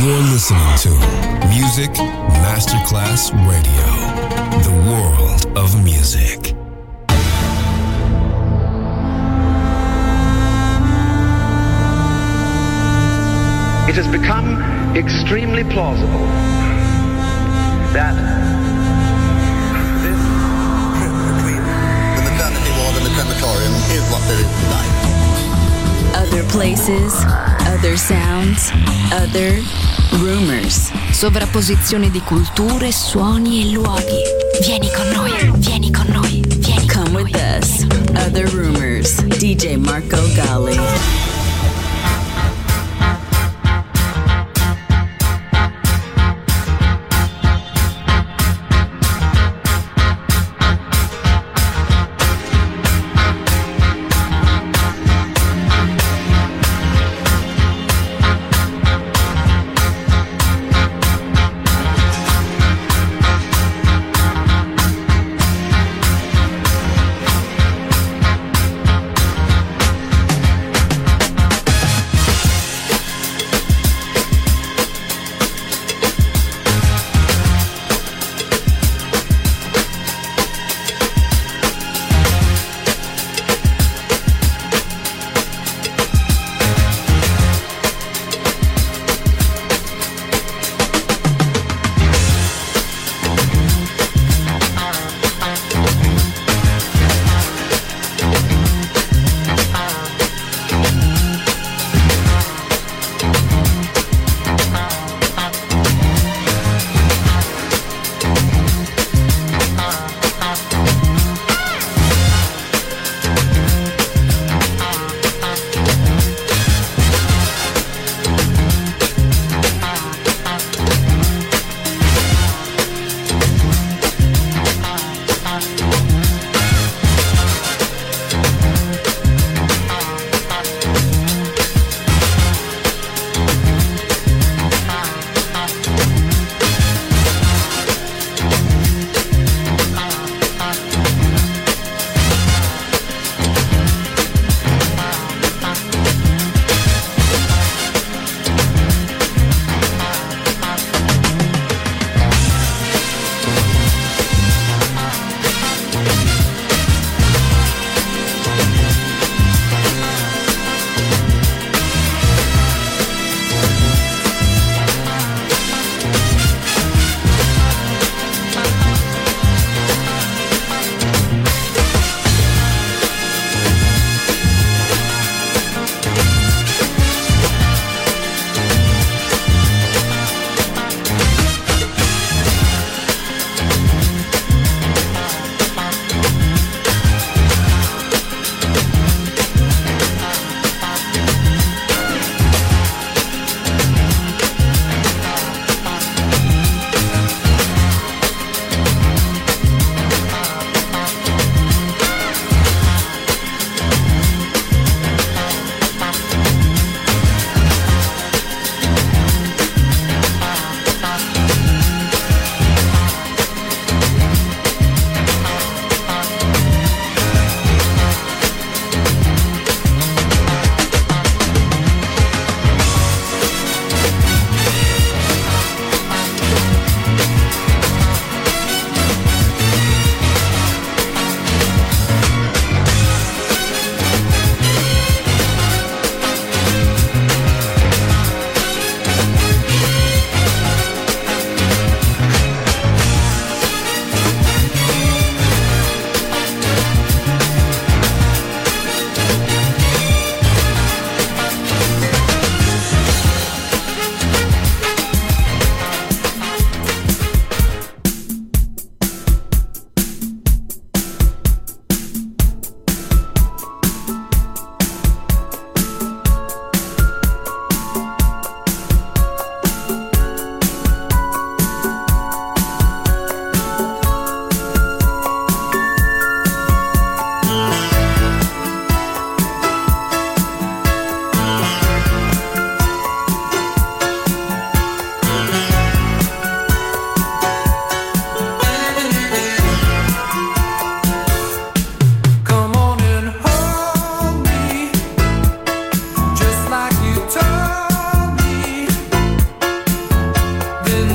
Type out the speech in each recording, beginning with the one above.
You're listening to Music Masterclass Radio, the world of music. It has become extremely plausible that this trip between the maternity ward and the crematorium is what there is tonight. Other places, other sounds, other rumors. Sovrapposizione di culture, suoni e luoghi. Vieni con noi, vieni con noi, vieni con Come noi. with us. Other rumors. DJ Marco Gally.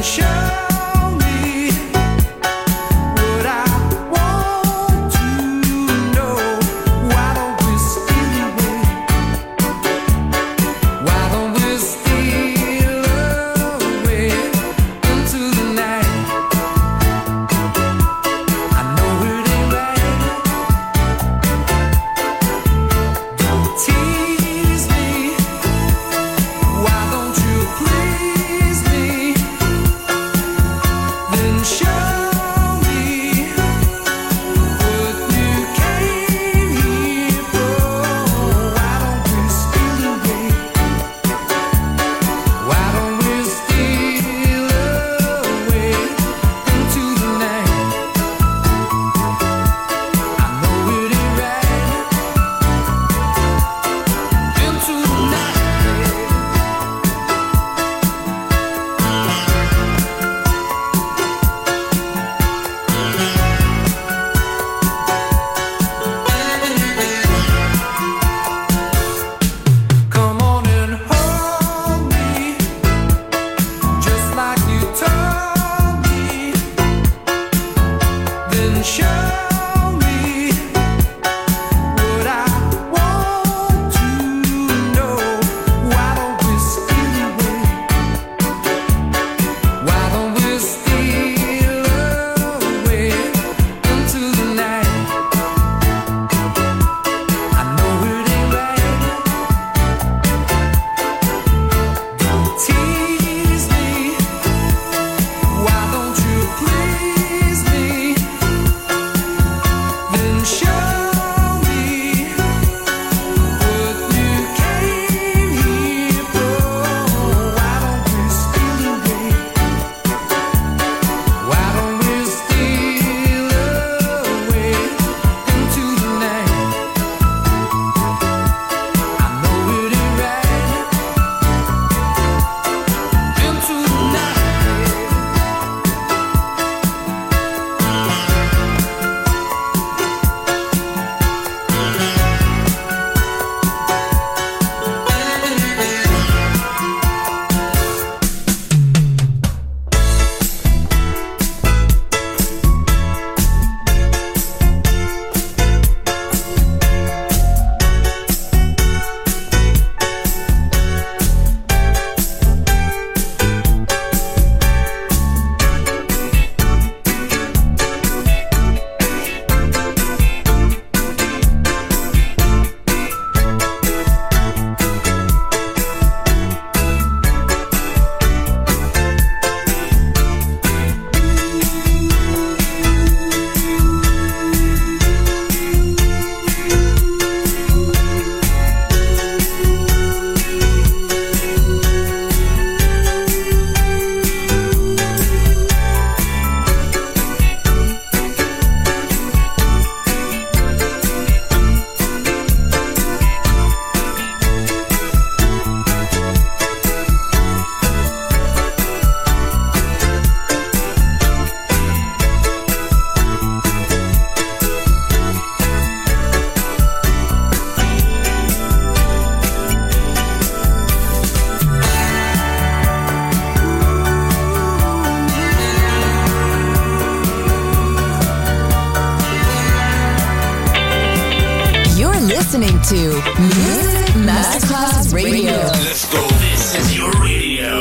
listening to Music Masterclass Radio. Let's go. This is your radio.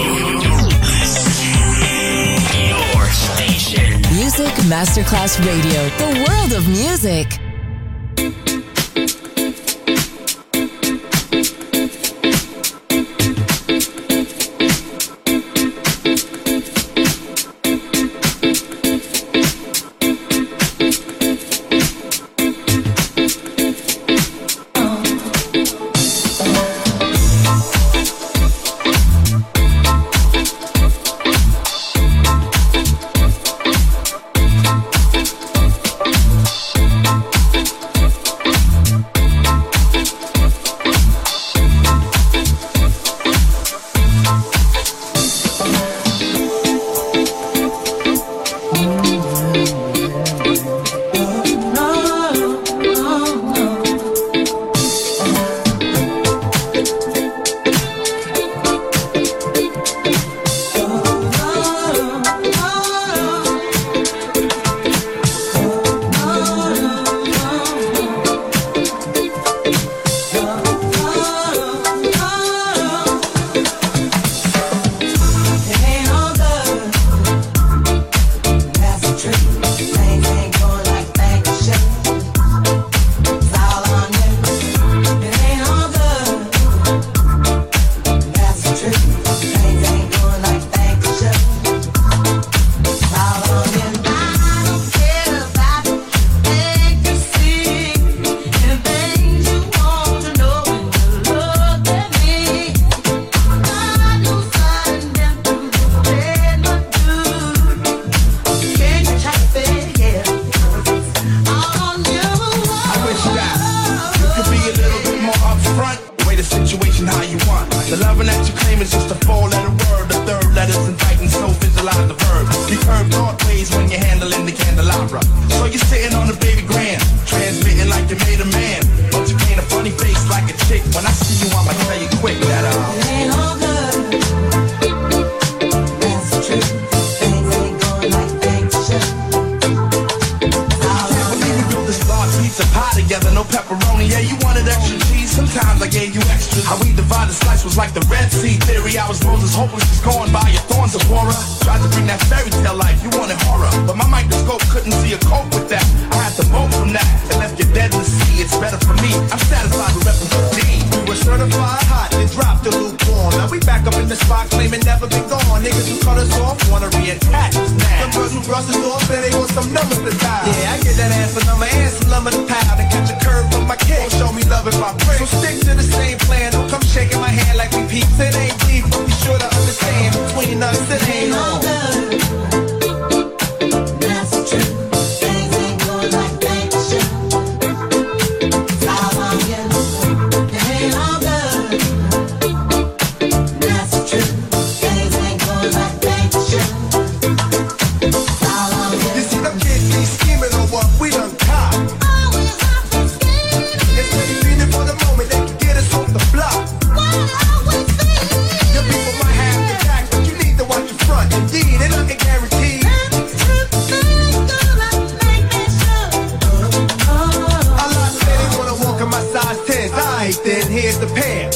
Your station. Music Masterclass Radio. The world of music. was like the Red Sea theory. I was Moses, hopeless, just going by your thorns of horror. Tried to bring that fairy tale life, you wanted horror, but my microscope couldn't see a cope with that. I had to bolt from that and left you dead in the sea. It's better for me. I'm satisfied with repping the D. We were certified hot, then dropped the lukewarm. Now we back up in the spot, claiming never been gone. Niggas who cut us off wanna reattach us now. Some girls who brush us off say they want some numbers to die. Yeah, I get that ass a number and some lumber to pound and catch a curve from my kick. Show me love if I pray. So stick to the same plan. Don't come shaking my hand like we peeps. It ain't deep, but be sure to understand. Between us, it ain't all good. That's true. Things ain't going like they should. How long you? It ain't all good. That's true. Things ain't going like they should. How long you? You see them kids be scheming on what we done caught. Always have been scheming. It's really feeling for the moment they can get us off the block. Your people might have the back, but you need to watch your front. Indeed, and nothing guaranteed. A lot say they wanna walk in my size 10. Alright then, here's the pair.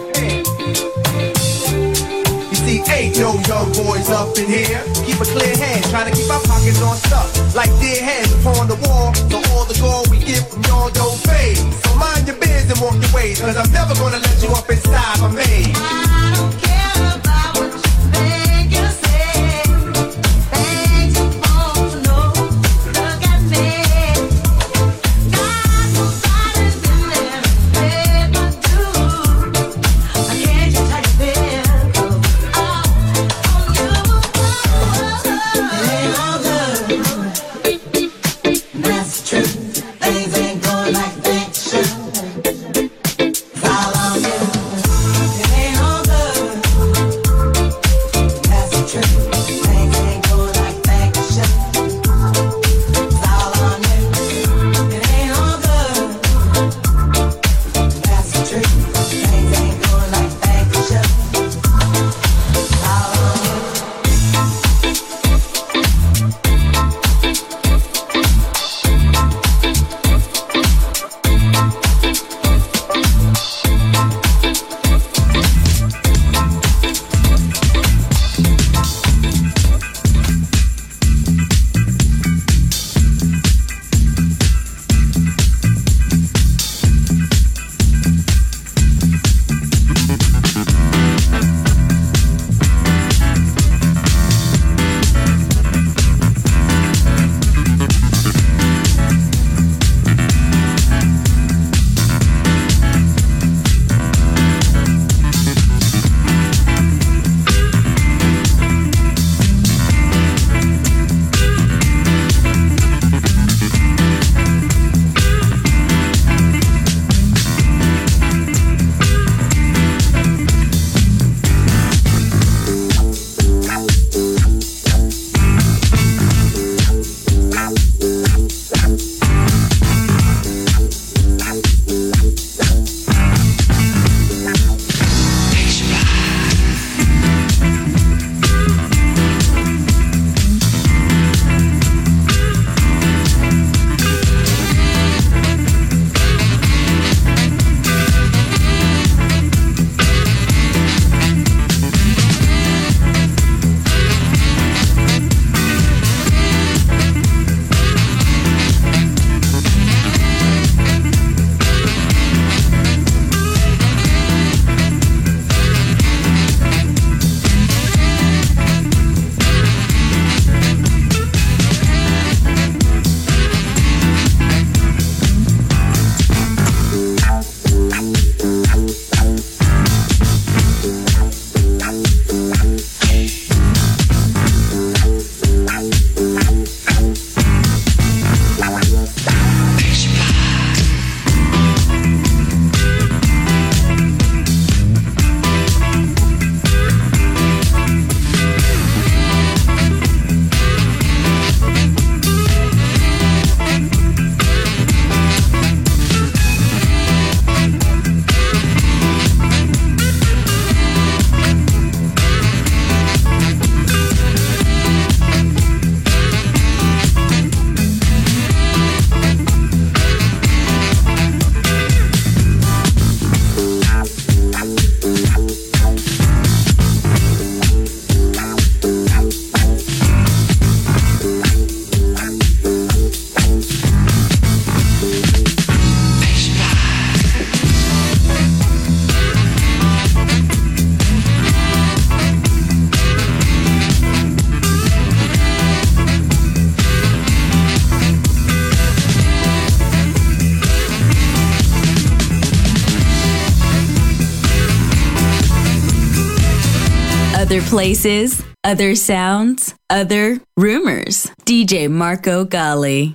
You see, ain't no young boys up in here. Keep a clear head, trying to keep our pockets on stuff. Like dead heads upon the wall. So all the gold we get from y'all don't fade. So mind your biz and walk your ways, cause I'm never gonna let you up inside my maze. I don't care about what you think you say. Things you want to know. Look at me. Got nobody's been there to pay my dues. I can't just how you feel. On you. It ain't all good. That's true. Things ain't going like they should. Follow you. It ain't all good. Other places, other sounds, other rumors. DJ Marco Gally.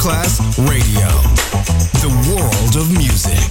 Masterclass Radio, the world of music.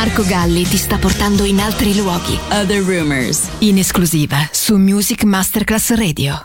Marco Galli ti sta portando in altri luoghi. Other Rumors. In esclusiva su Music Masterclass Radio.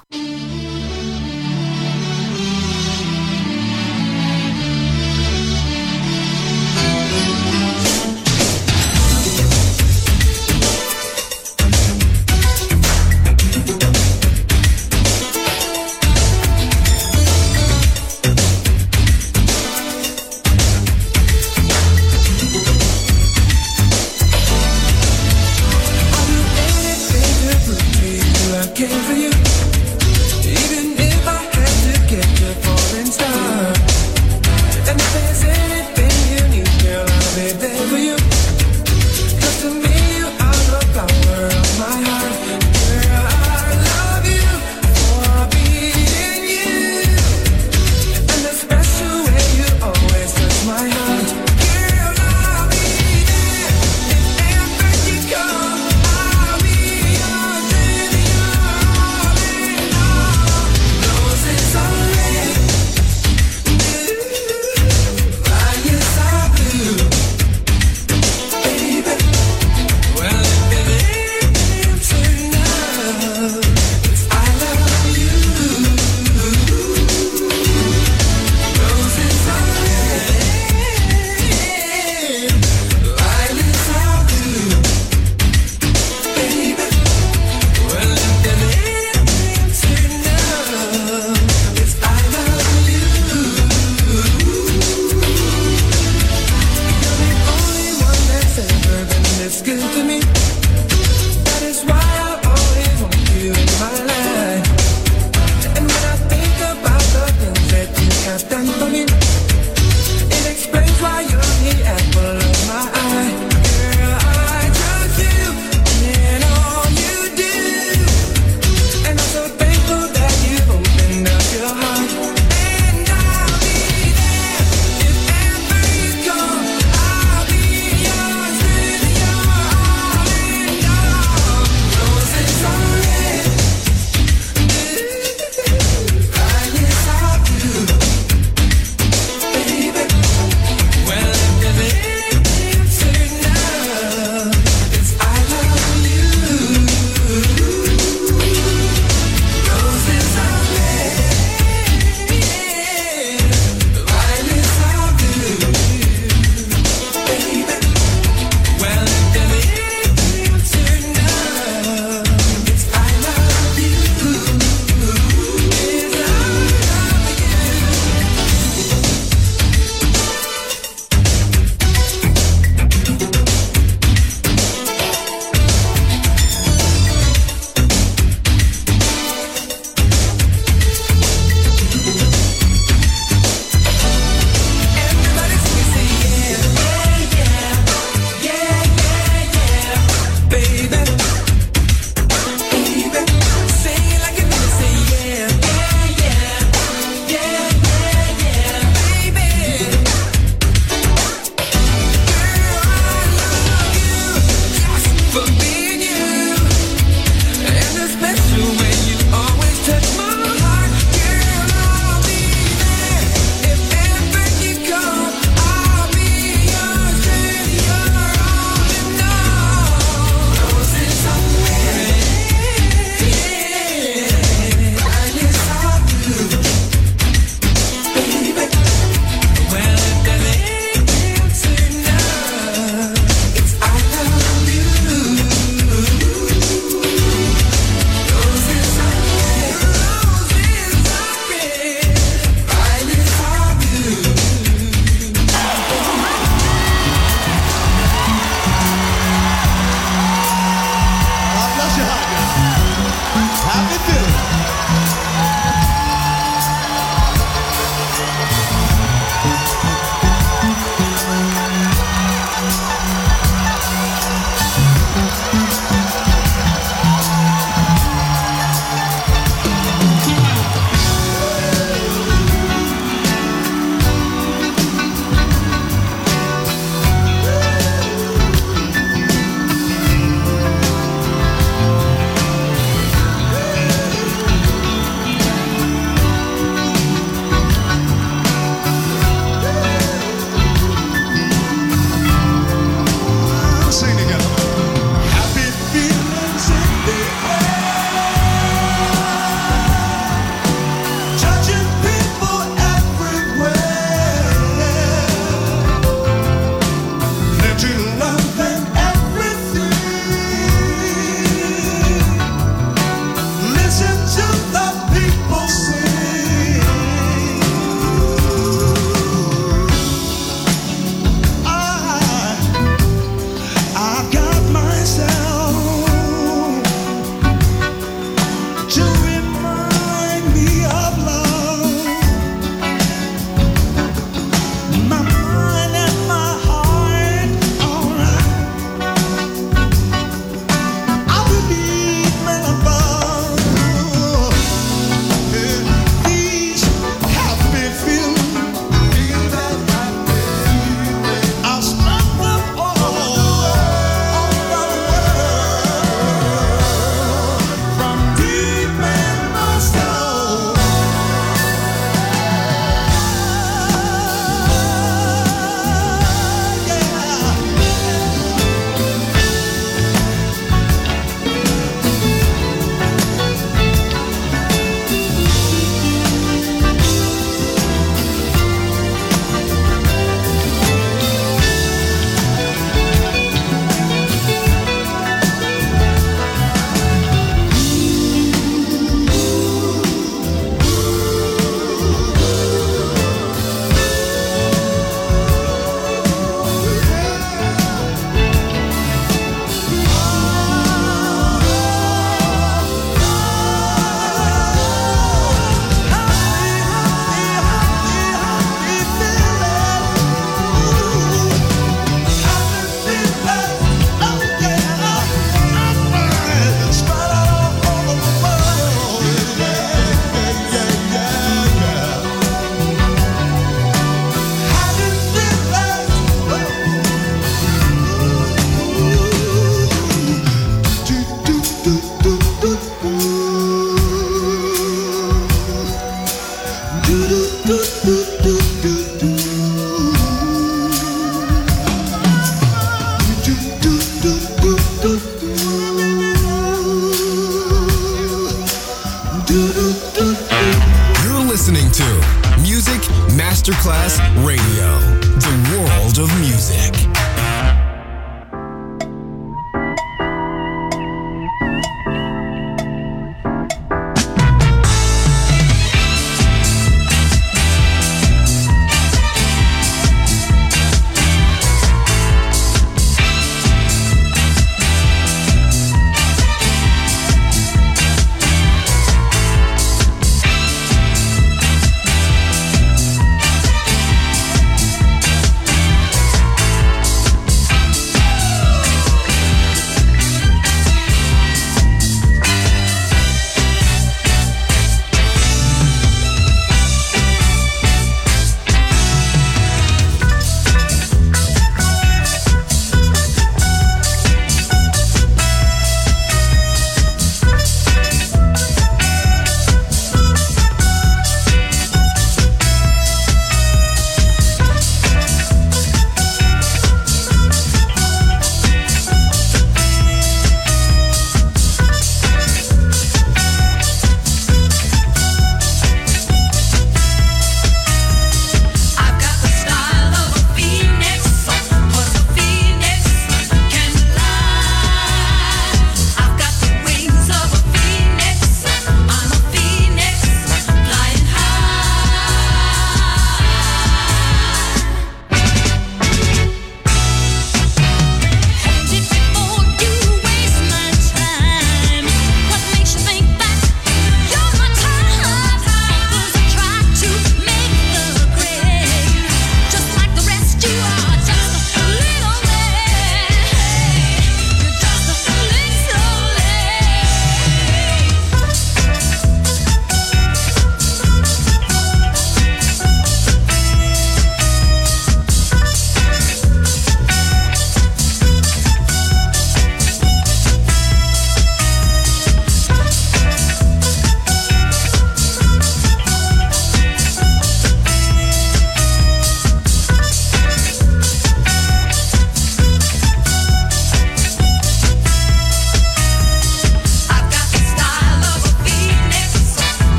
You're listening to Music Masterclass Radio, the world of music.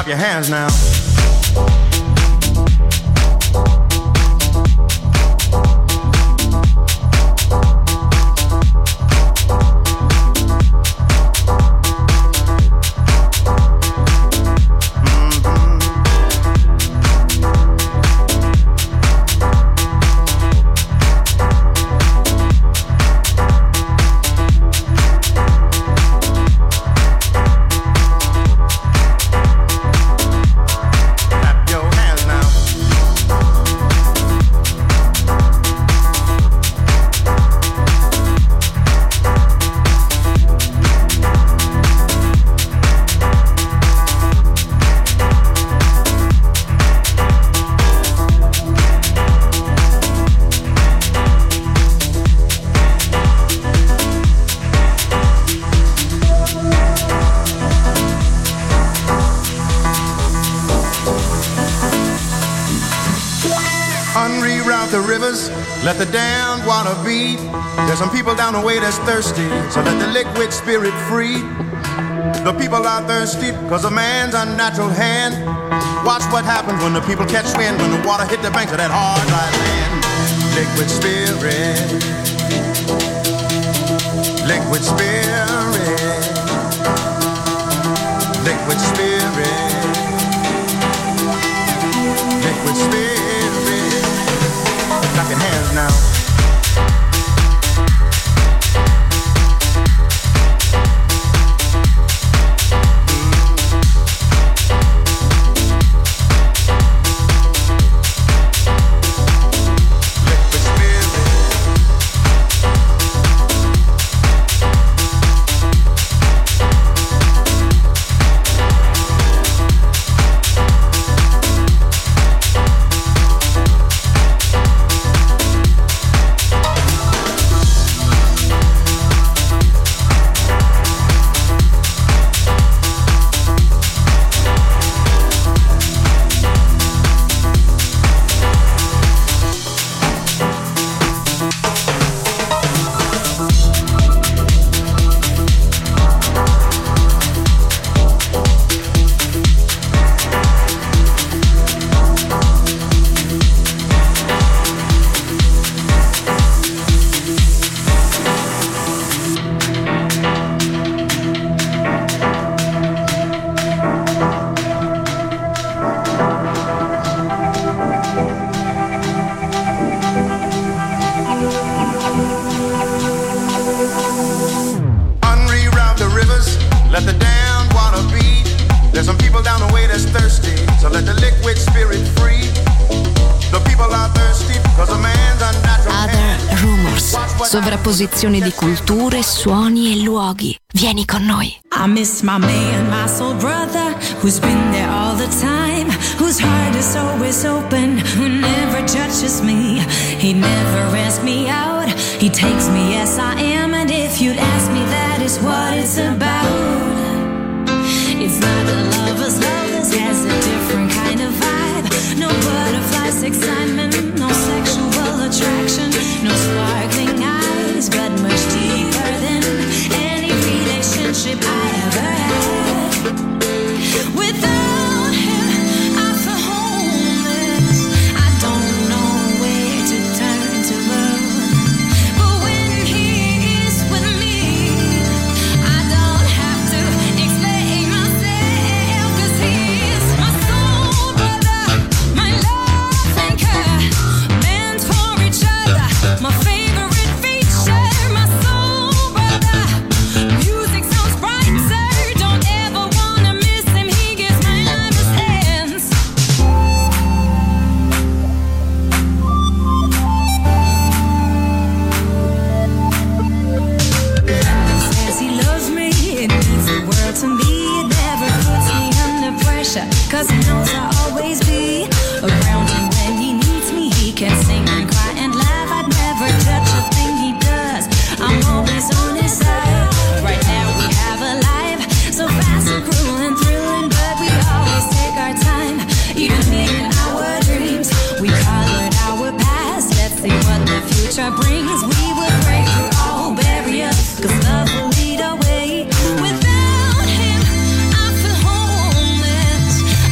your hands now. Unreroute the rivers, let the damned water beat. There's some people down the way that's thirsty, so let the liquid spirit free. The people are thirsty because of man's unnatural hand. Watch what happens when the people catch wind, when the water hit the banks of that hard, dry land. Liquid spirit, liquid spirit, liquid spirit, liquid spirit. Clap your hands now. Let the damned water beat. There's some people down the way that's thirsty, so let the liquid spirit free. The people are thirsty because a man's unnatural hand. Other Rumors, sovrapposizione di culture, suoni e luoghi. Vieni con noi. I miss my man, my soul brother, who's been there all the time, whose heart is always open, who never judges me. He never asks me out, he takes me as I am, and if you'd ask me, that is what it's about. It's not a lover's love, this has a different kind of vibe. No butterflies, excitement, no sexual attraction, no sparkling eyes, but much deeper than any relationship I ever had. Without him, I feel homeless. I don't know where to turn to run. But when he is with me, I don't have to explain myself, 'cause he is my soul brother, my love anchor, meant for each other, my favorite feature, my soul brother. Music sounds brighter, don't ever wanna miss him, he gives my life his hands. Says he loves me, it means the world to me, it never puts me under pressure, 'cause he knows I'll always be around him when he needs me. He can sing and cry and laugh, I'd never touch a thing he does, I'm always on his side. Right now we have a life so fast and cruel and thrilling, but we always take our time, even in our dreams. We colored our past, let's see what the future brings. We will break through all barriers, 'cause love will lead our way. Without him, I feel homeless.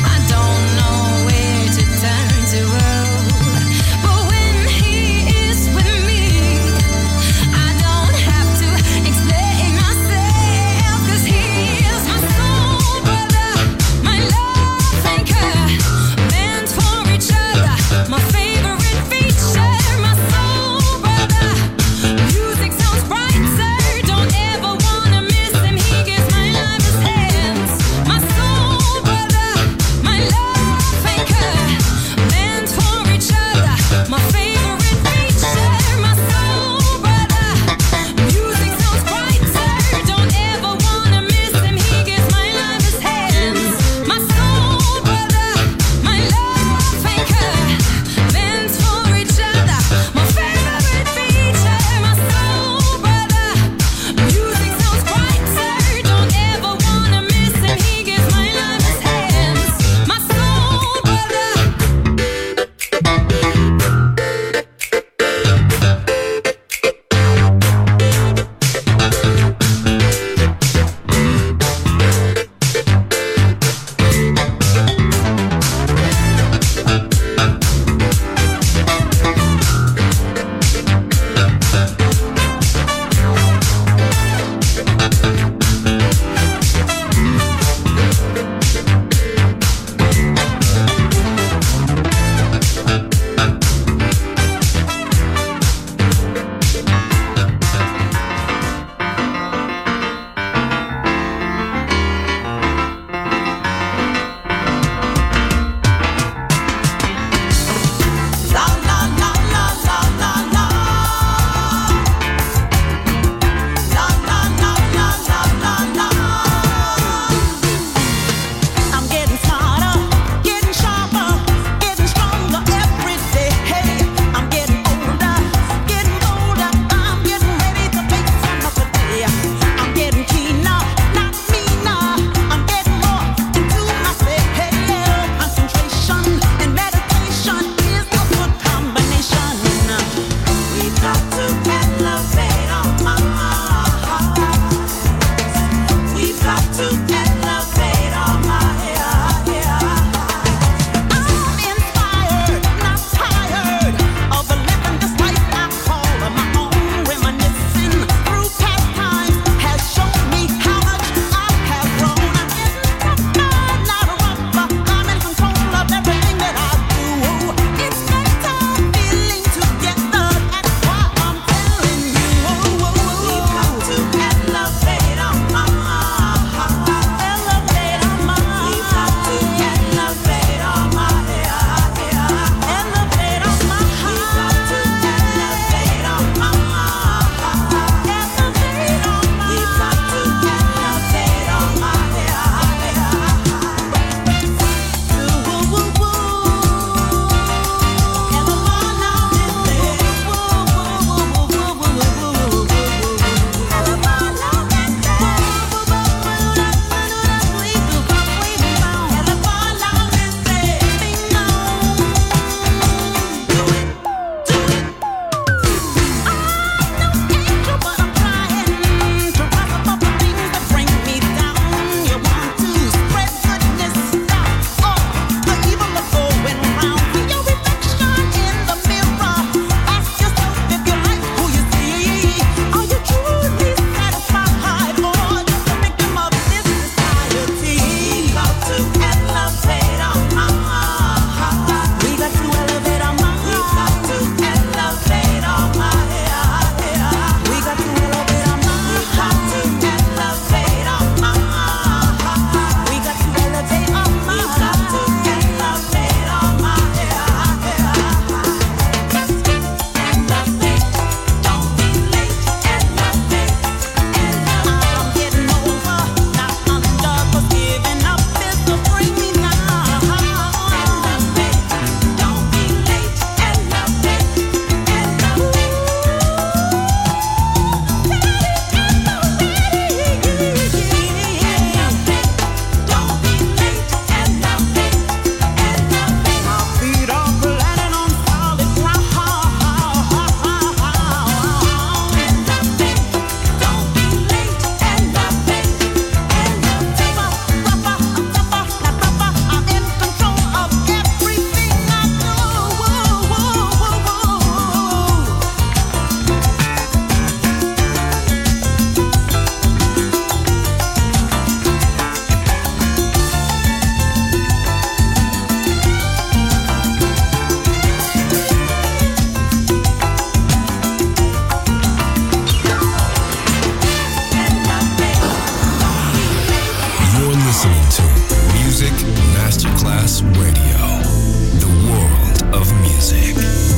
listening to Music Masterclass Radio, the world of music.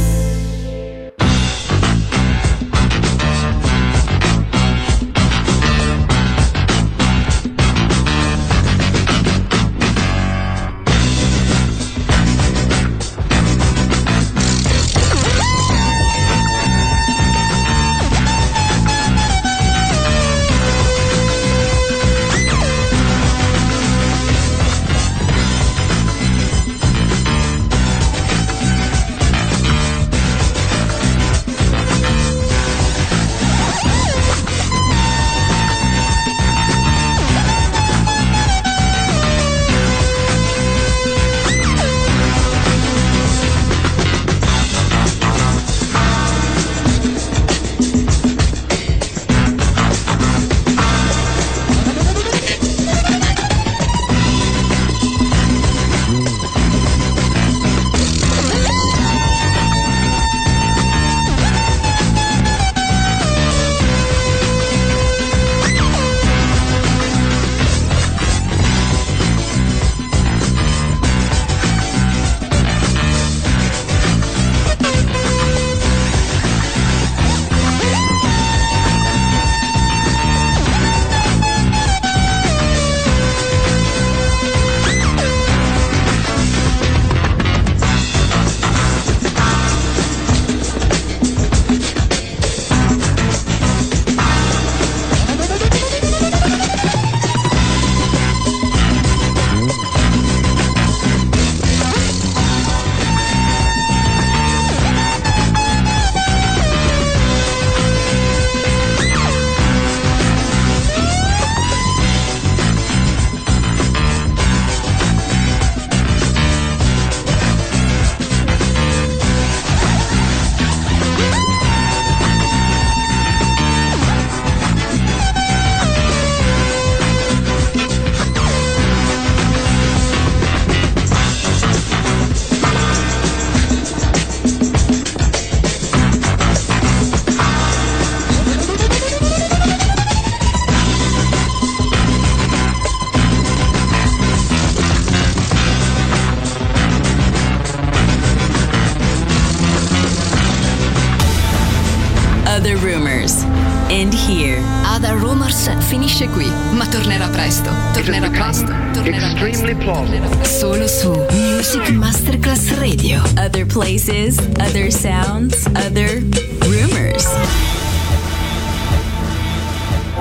Other Rumors. End here. Other Rumors finisce qui, ma tornerà presto. Extremely plausible. Solo su Music Masterclass Radio. Other places, other sounds, other rumors.